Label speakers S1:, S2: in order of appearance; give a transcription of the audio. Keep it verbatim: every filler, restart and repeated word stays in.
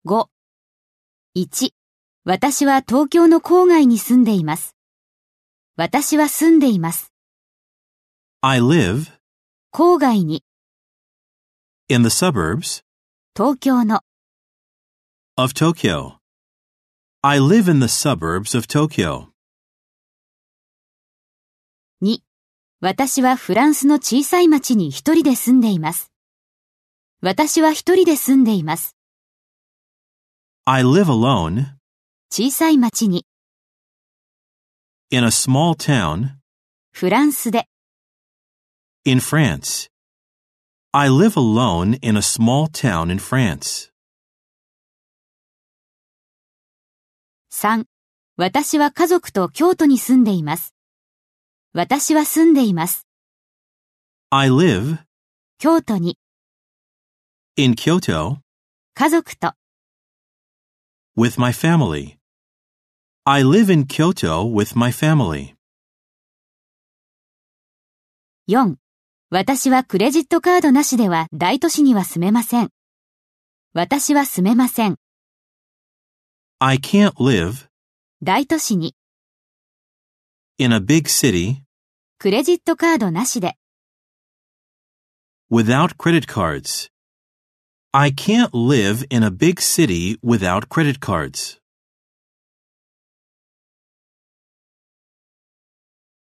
S1: ご、いち、私は東京の郊外に住んでいます。私は住んでいます。
S2: I live
S1: 郊外に、
S2: in the suburbs
S1: 東京の、
S2: of Tokyo. I live in the suburbs of Tokyo.
S1: に、私はフランスの小さい町に一人で住んでいます。私は一人で住んでいます。
S2: I live alone
S1: 小さい町に、
S2: in a small town
S1: フランスで、
S2: in France. I live alone in a small town in France.
S1: さん、私は家族と京都に住んでいます。私は住んでいます。
S2: I live
S1: 京都に、
S2: in Kyoto
S1: 家族と、
S2: with my family. I live in Kyoto with my family.
S1: よん、私はクレジットカードなしでは大都市には住めません。私は住めません。
S2: I can't live
S1: 大都市に、
S2: in a big city
S1: クレジットカードなしで、
S2: without credit cards. I can't live in a big city without credit cards.